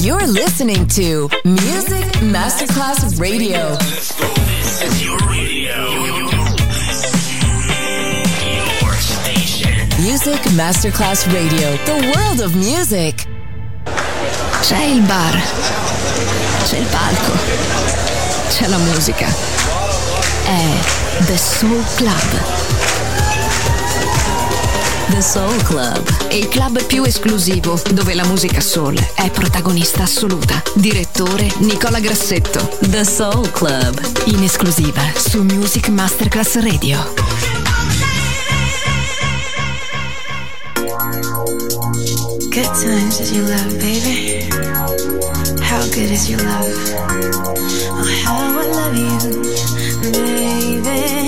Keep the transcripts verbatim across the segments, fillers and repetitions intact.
You're listening to Music Masterclass Radio. Let's go. This is your radio. Your station. Music Masterclass Radio. The world of music. C'è il bar. C'è il palco. C'è la musica. È The Soul Club. The Soul Club. Il club più esclusivo dove la musica soul è protagonista assoluta. Direttore Nicola Grassetto. The Soul Club. In esclusiva su Music Masterclass Radio. Good times is your love, baby. How good is your love? Oh, how I love you, baby.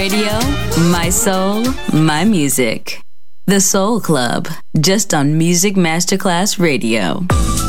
Radio, my soul, my music. The Soul Club, just on Music Masterclass Radio.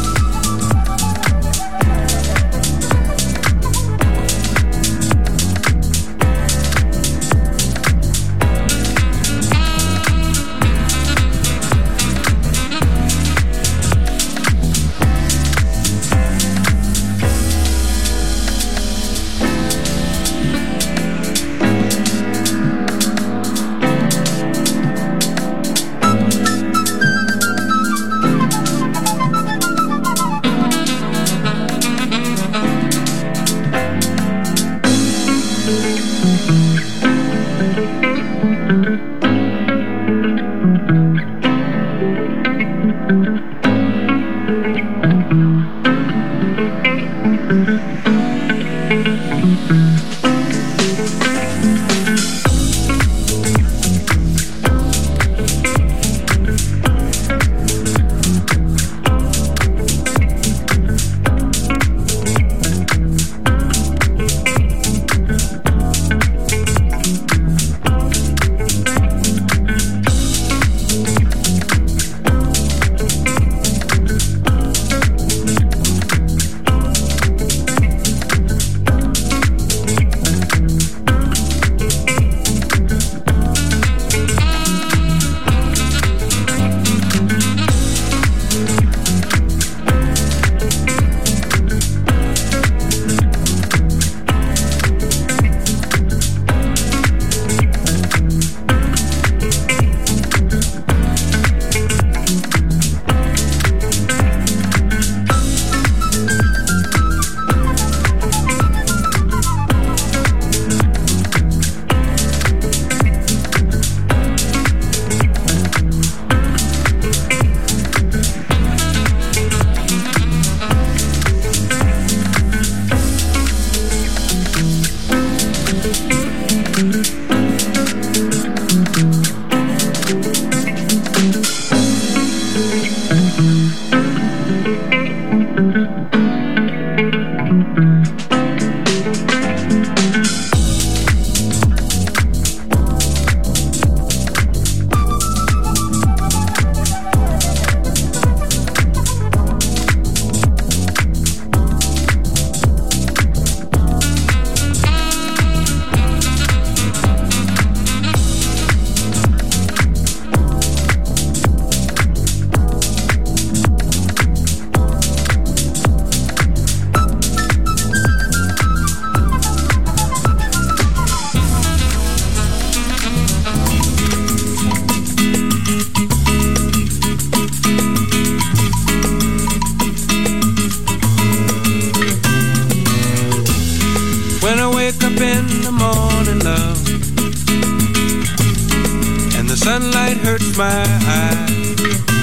sunlight hurts my eyes,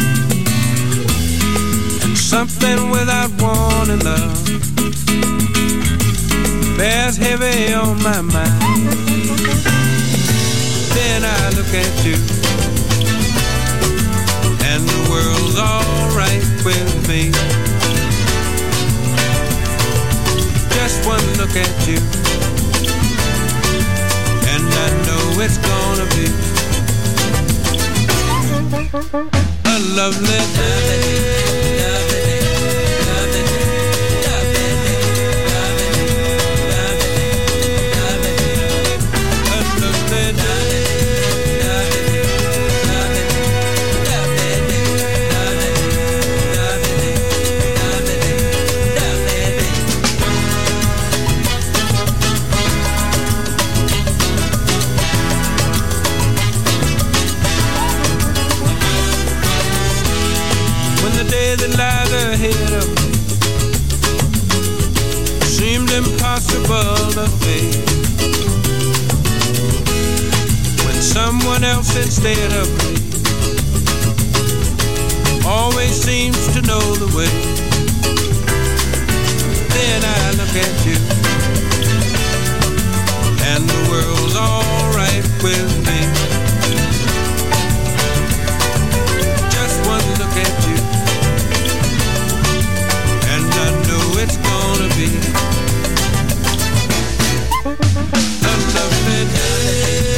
and something without wanting love bears heavy on my mind. Then I look at you, and the world's alright with me. Just one look at you, and I know it's gonna be a lovely day. That lies ahead of me seemed impossible to face, when someone else instead of me always seems to know the way. Then I look at you, and the world's alright with me. Just one look at you, it's gonna be a lovely day.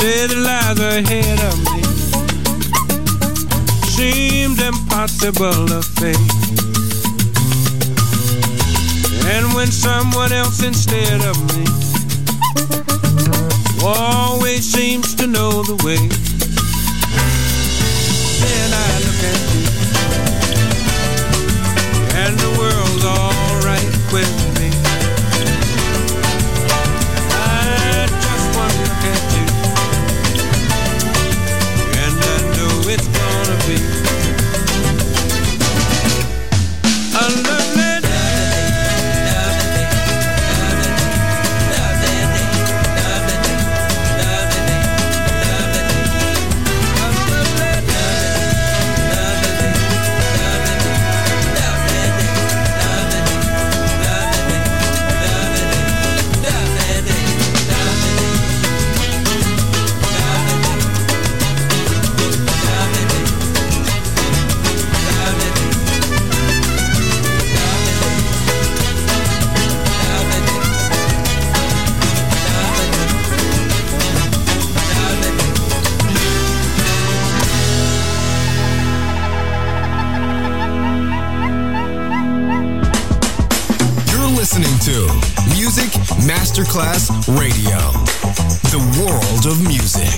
day that lies ahead of me seemed impossible to face. And when someone else instead of me always seems to know the way, then I look at you and the world's all right with me. I just want to look at you and I know it's gonna be a lovely Masterclass Radio, the world of music.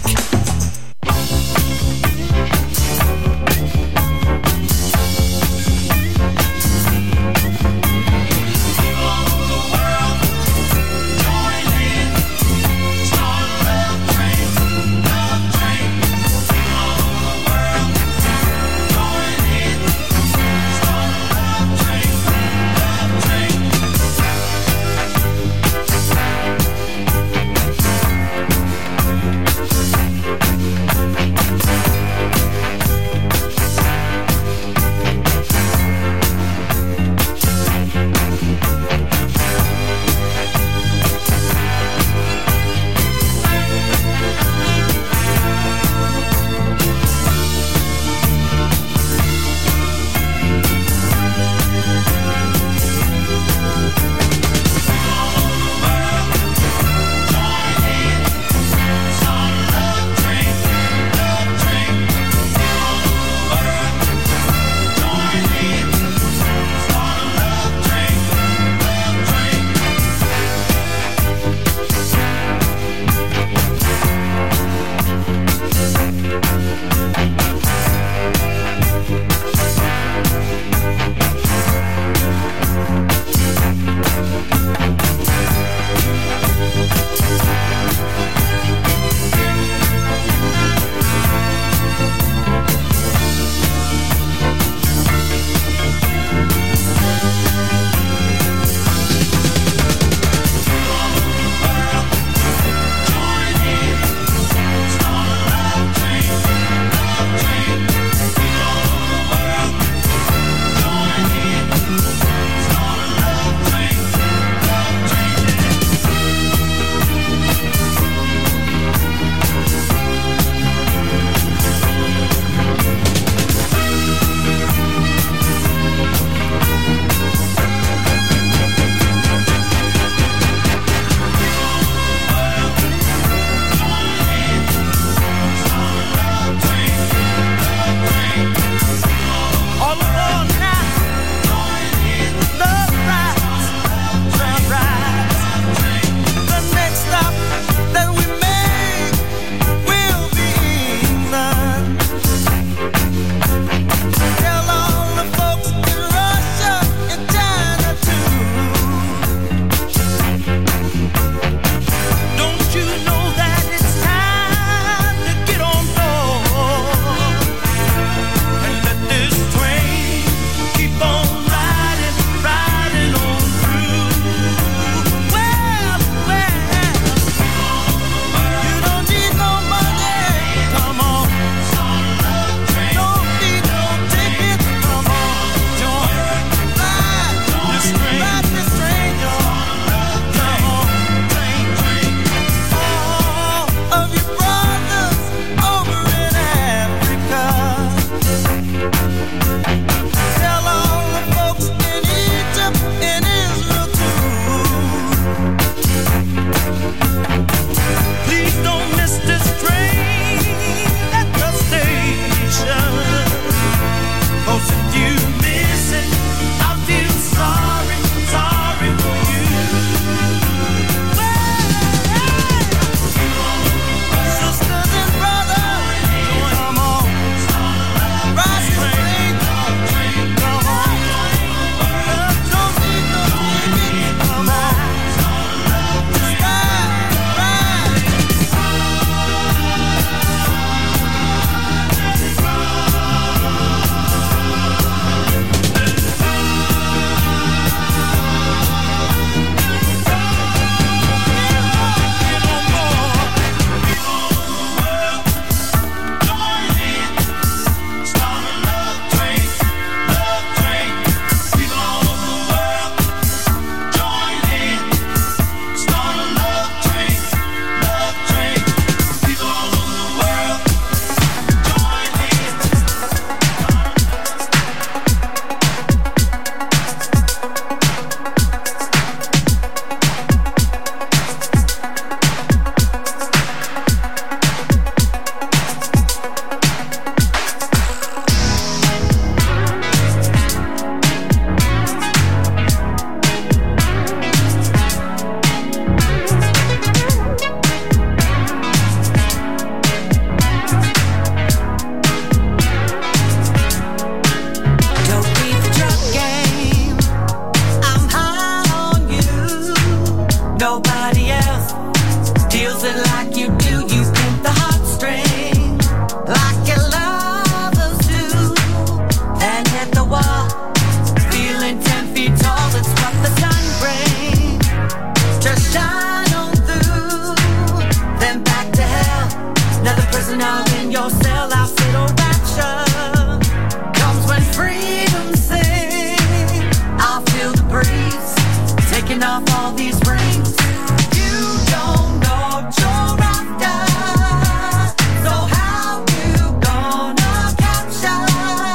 pulls it like you do. You pin the heartstring like your lovers do, and hit the wall, feeling ten feet tall. It's what the sun brings. Just shine on through, then back to hell. Another prisoner in your cell. I'll sit or rapture comes when freedom sings. I'll feel the breeze taking off all these rings. You don't know what you're after, so how you gonna capture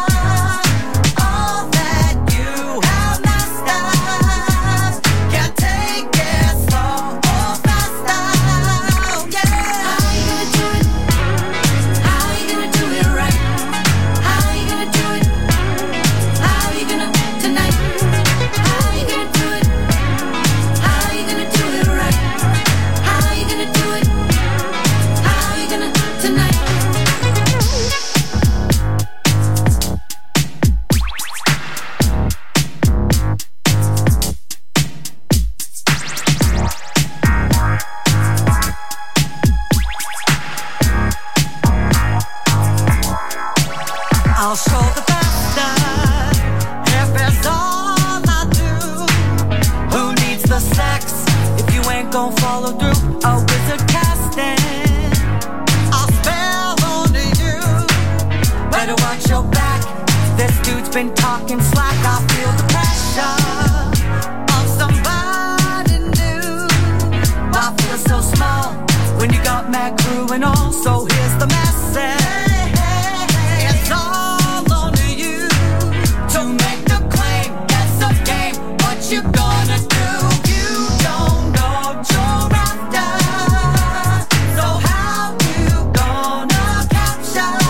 all that you have mastered? Can't take it slow or faster. Yeah. How you gonna do it? How you gonna do it right? How you gonna do it? How you gonna tonight? How you gonna do it? How you gonna do it right? How you gonna do it? How you gonna tonight? I'll show the bastard if it's all I do. Who needs the sex if you ain't gon' follow through? A wizard casting, I'll spell onto you. Better watch your back. This dude's been talking slack. I feel the pressure of somebody new. I feel so small when you got mad crew and all. So here's the message. It's all on you to make the claim. That's a game. What you gonna do? You don't know what you're after, so how you gonna capture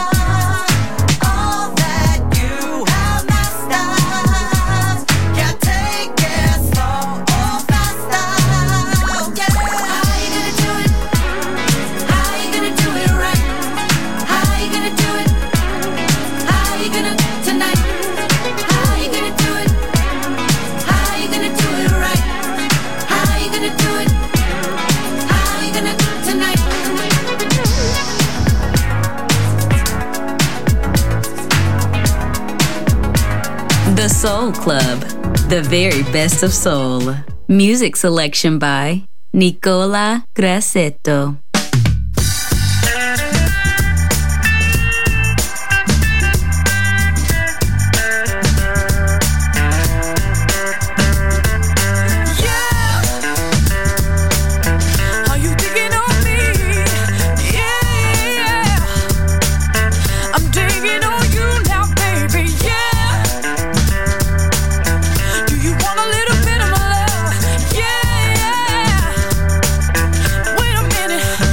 all that you have mastered? Can't take it slow or faster. Yeah. How you gonna do it? How you gonna do it right? How you gonna do it? How you gonna tonight? How you gonna do it? How you gonna do it right? How you gonna do it? How you gonna tonight? The Soul Club, the very best of soul. Music selection by Nicola Grassetto. Are you digging on me? Yeah, I'm digging on you now, baby. Yeah. Do you want a little bit of my love? Yeah. Wait a minute.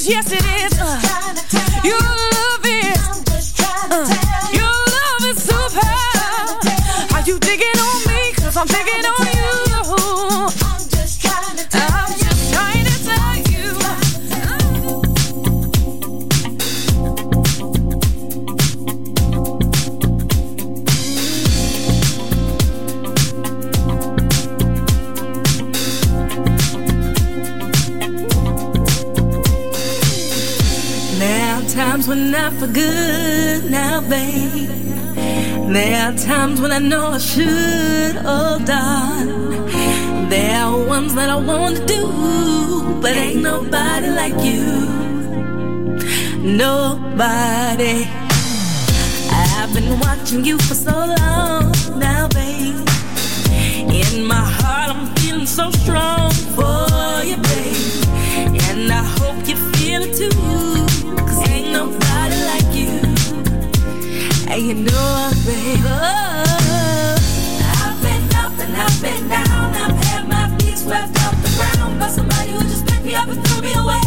yes it is. Uh, your love is, uh, your love is super. Are you digging on me? Cause I'm digging on you. I'm just trying to tell I'm you. Just trying to tell you. There are times when I feel good now, babe. There are times when I know I should hold on. There are ones that I want to do, but ain't nobody like you. Nobody. I've been watching you for so long now, babe. In my heart I'm feeling so strong for you, babe. And I hope you feel it too, cause ain't nobody like you. And you know, baby, oh, I've been up and I've been down. I've had my feet swept off the ground by somebody who just picked me up and threw me away.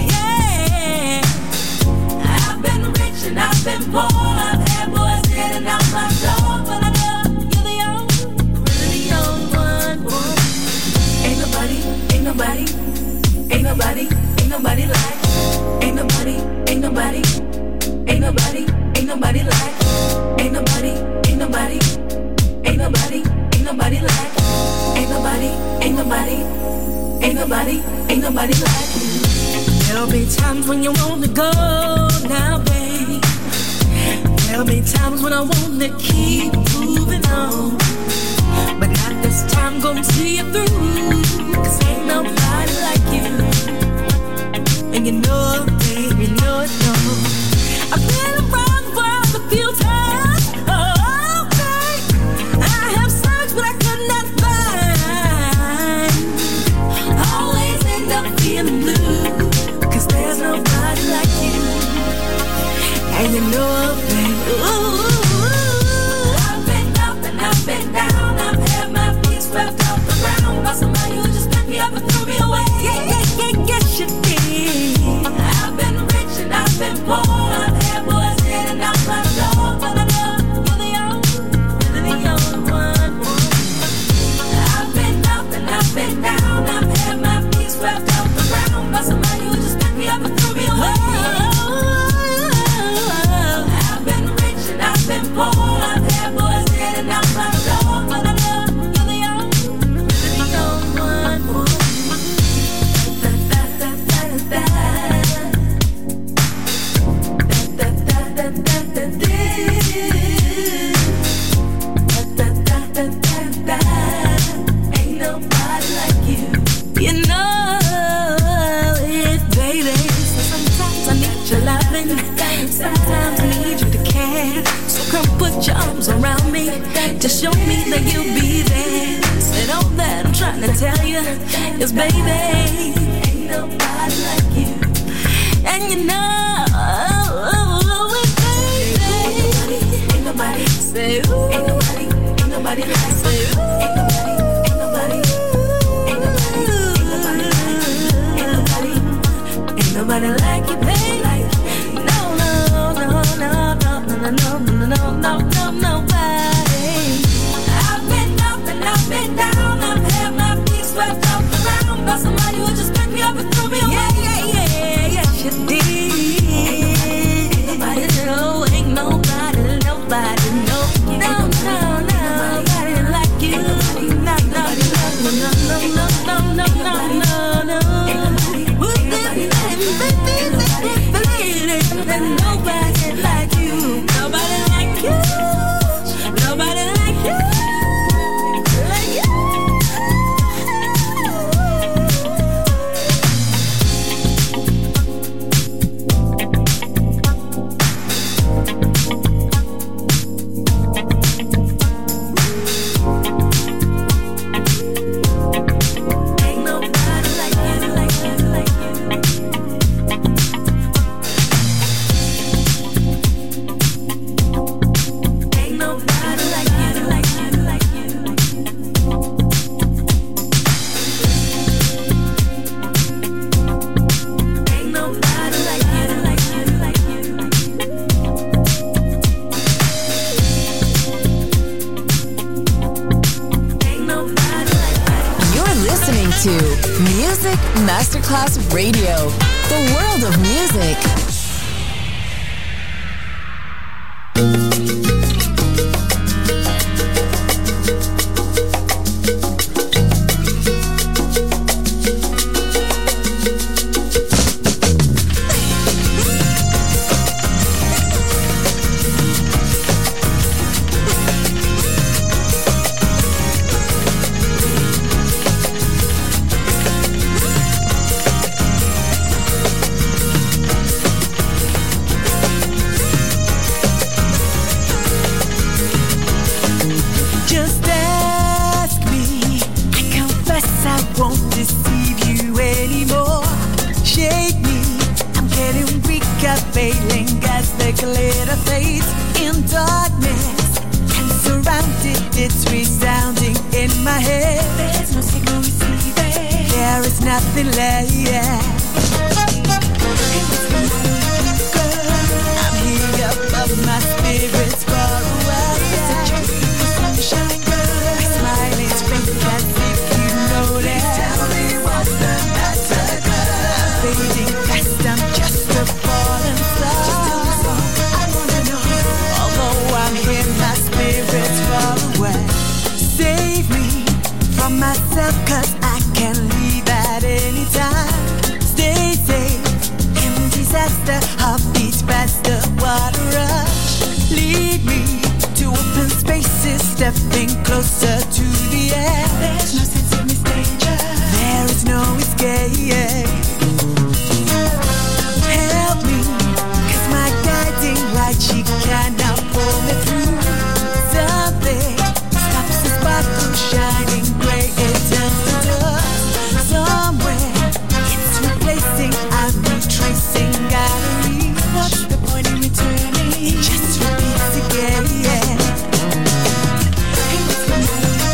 Yeah, I've been rich and I've been poor. I've had boys in and out my door, but I know you're the only, really the only one. Ain't nobody, ain't nobody, ain't nobody, ain't nobody like. Ain't nobody, ain't nobody, ain't nobody, ain't nobody like. Ain't nobody, ain't nobody, ain't nobody, ain't nobody like. Ain't nobody, ain't nobody, ain't nobody, ain't nobody like you. There'll be times when you want to go now, babe. There'll be times when I want to keep moving on, but not this time, gonna see you through, cause ain't nobody like you. And you know, babe, you know it, no. I've been around the world a few times. Oh, okay. I have searched, but I could not find. Always end up feeling blue, cause there's nobody like you. And you know, baby, ooh, I've been up and I've been down. I've had my feet swept off the ground by somebody who just picked me up and threw me away. Yeah, yeah, yeah, yes you did. I've been rich and I've been poor. I've had boys in and out my door, but I know you're the only, really the only one. I've been up and I've been down. I've had my feet swept off the ground by somebody who just picked me up and threw me away. I've been rich and I've been poor. I've had boys in and out my door, but I know you're the only, really the only one. Da, da, da, da, da, da, da, da, da, da, da, da. Ain't nobody like you. You know it, baby. So sometimes I need your loving, sometimes I need you to care. So come put your arms around me, just show me that you'll be there. Said all that I'm trying to tell you is, baby, ain't nobody like you. And you know it, baby. Ain't nobody, say ooh. Ain't nobody, ain't nobody like. Say ooh. Ain't nobody, ain't nobody, ain't nobody, ain't nobody, ain't nobody like you, baby. No, no, no, no, no, no, no, no, no, no, no, nobody. I've been up and I've been down. I've had my feet swept off the ground by somebody who just picked me up and threw me away. Yeah, yeah, yeah, yes you did. Ain't nobody, no, ain't nobody, nobody, no, no, no, nobody like you. No, no, no, no, no, no, no, no, no, no. And nobody like you, nobody like you, nobody like you, like you. Radio, the world of music. Just repeat again, yeah.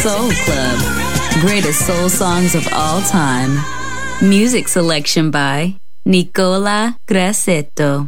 Soul Club. Greatest soul songs of all time. Music selection by Nicola Grassetto.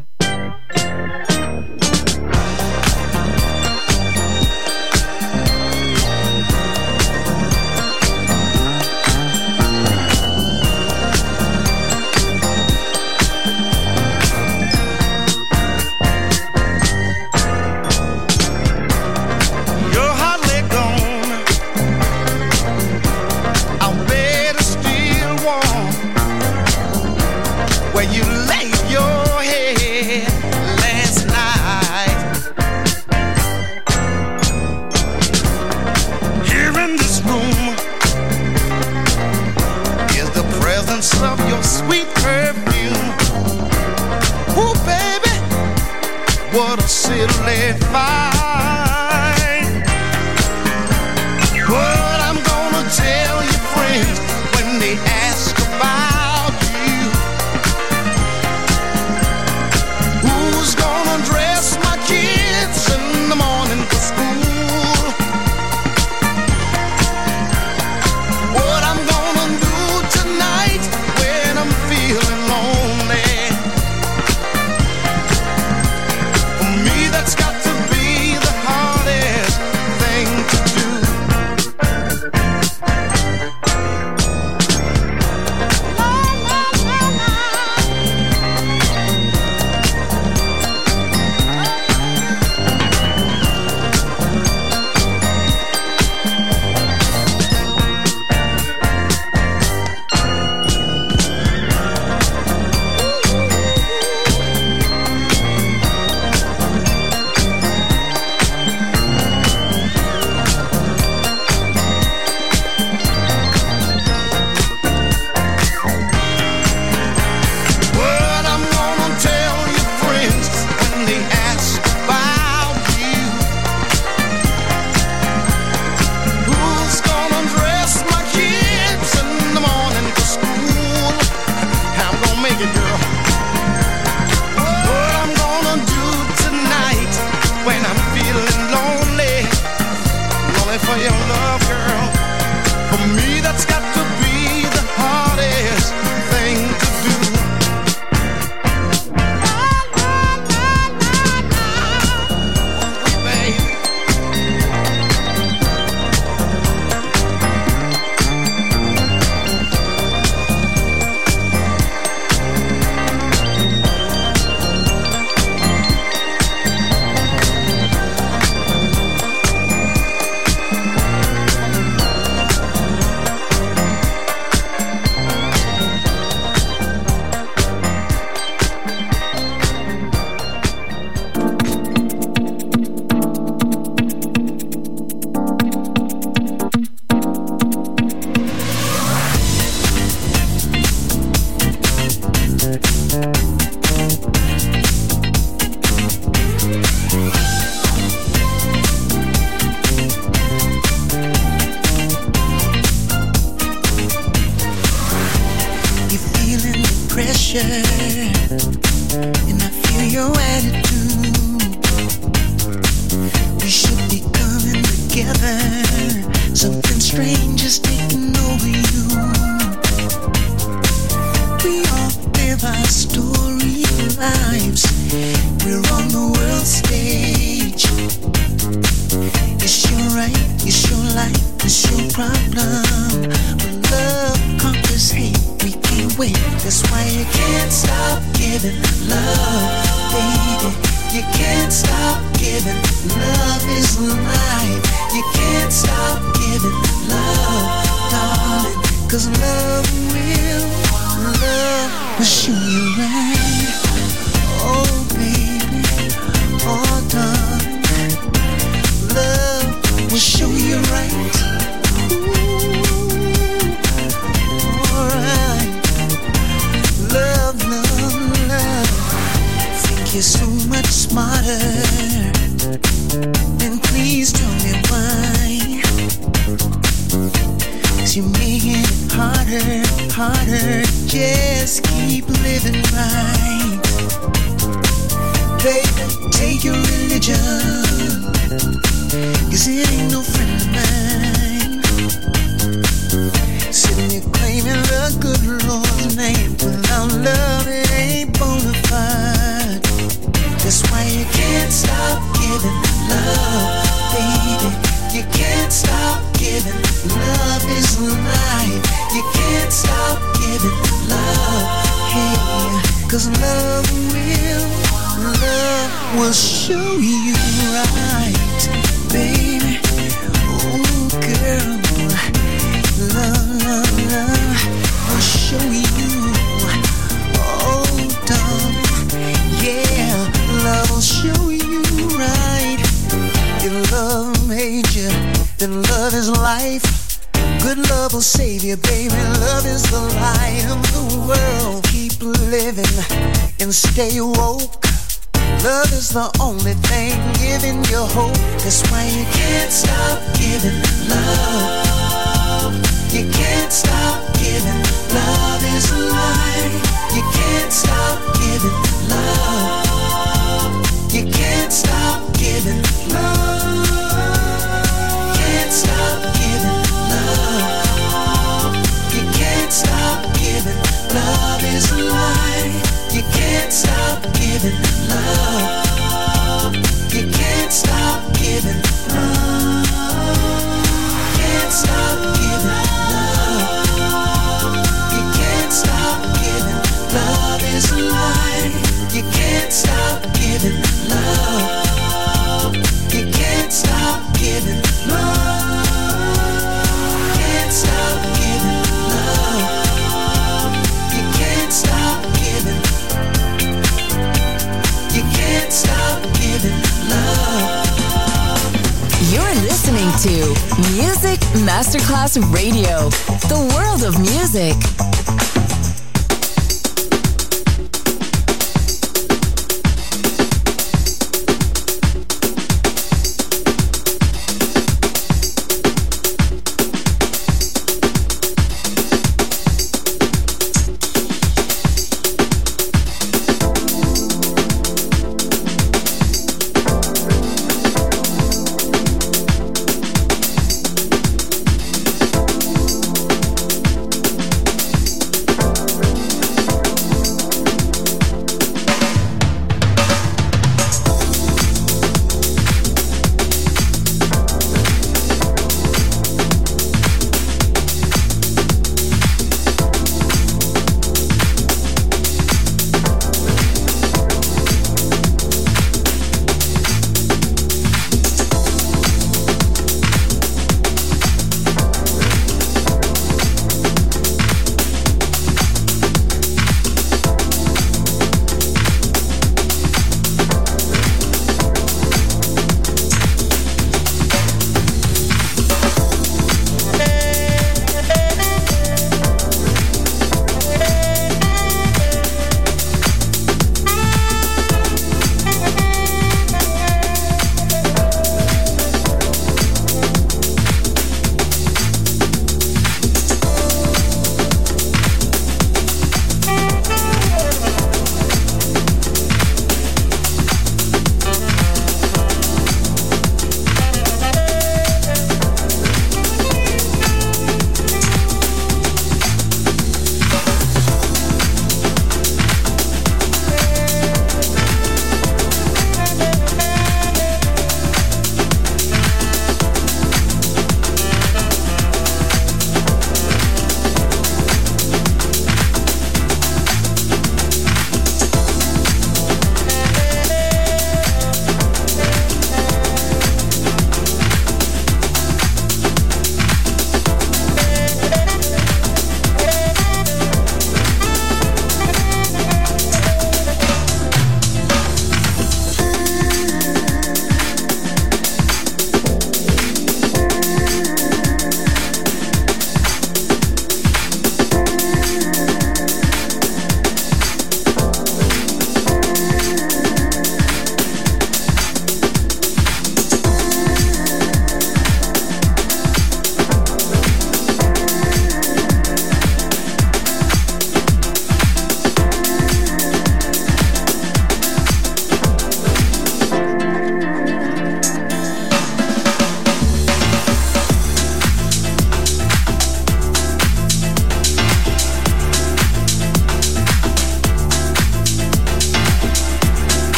Take your religion, 'cause it ain't no friend of mine. 'cause love will, love will show you right, baby. Oh girl, love, love, love will show you. Oh darling, yeah, love will show you right. If love made you, then love is life. Good love will save you, baby. Love is the light of the world. Keep living and stay woke. Love is the only thing giving you hope. That's why you can't stop giving love. You can't stop giving. Love is alive. You can't stop giving love. You can't stop giving love. Can't stop giving love. You can't stop giving. Love is alive. You can't stop giving love. You can't stop giving love. Can't stop giving love. You can't stop giving. Love is alive. You can't stop giving love. You can't stop giving love. Can't stop giving love. You can't stop giving. You can't stop giving love. You're listening to Music Masterclass Radio, the world of music.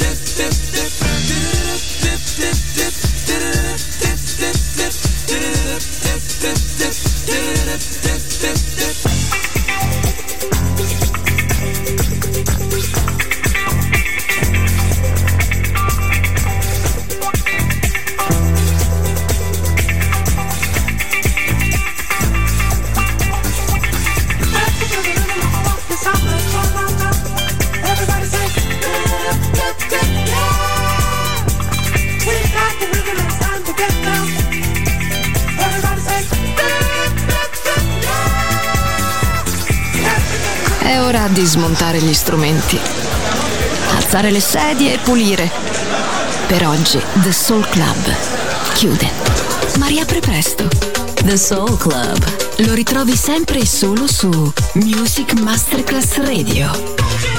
È ora di smontare gli strumenti, alzare le sedie e pulire. Per oggi The Soul Club chiude, ma riapre presto. The Soul Club Lo ritrovi sempre e solo su Music Masterclass Radio.